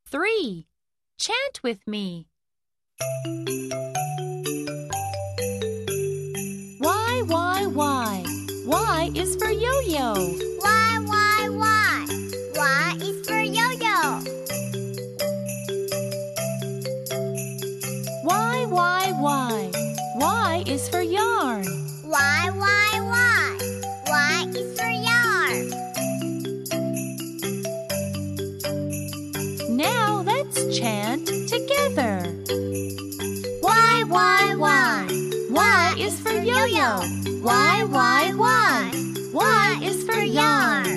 3. Chant with me. Y, Y, Y. Y is for yo-yo. Y, Y, Y. Y is for yo-yo. Y, Y, Y. Y is for yarn. Y, Y, Y. Y is for yarn. Now let's chant together. Y, Y, Y. Y is for yo-yo. Y, Y, Y. Y is for yarn.